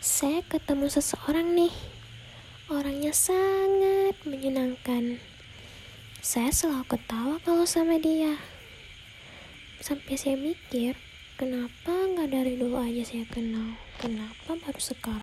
Saya ketemu seseorang nih. Orangnya sangat menyenangkan. Saya selalu ketawa kalau sama dia. Sampai saya mikir, kenapa nggak dari dulu aja saya kenal? Kenapa baru sekarang?